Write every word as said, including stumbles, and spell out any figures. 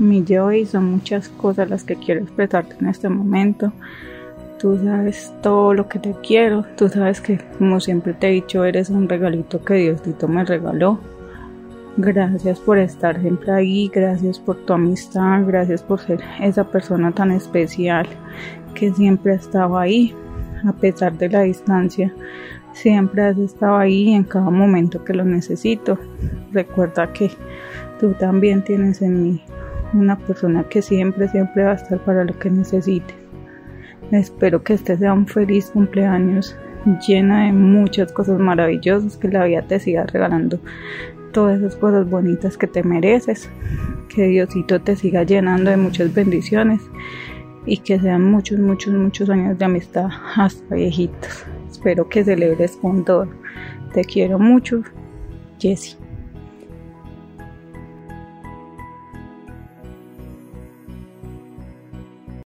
mi Joey, son muchas cosas las que quiero expresarte en este momento. Tú sabes todo lo que te quiero, tú sabes que, como siempre te he dicho, eres un regalito que Diosito me regaló. Gracias por estar siempre ahí, gracias por tu amistad, gracias por ser esa persona tan especial que siempre estaba ahí, a pesar de la distancia. Siempre has estado ahí en cada momento que lo necesito. Recuerda que tú también tienes en mí una persona que siempre, siempre va a estar para lo que necesites. Espero que este sea un feliz cumpleaños llena de muchas cosas maravillosas, que la vida te siga regalando todas esas cosas bonitas que te mereces, que Diosito te siga llenando de muchas bendiciones y que sean muchos, muchos, muchos años de amistad hasta viejitos. Espero que celebres con todo. Te quiero mucho, Jessie.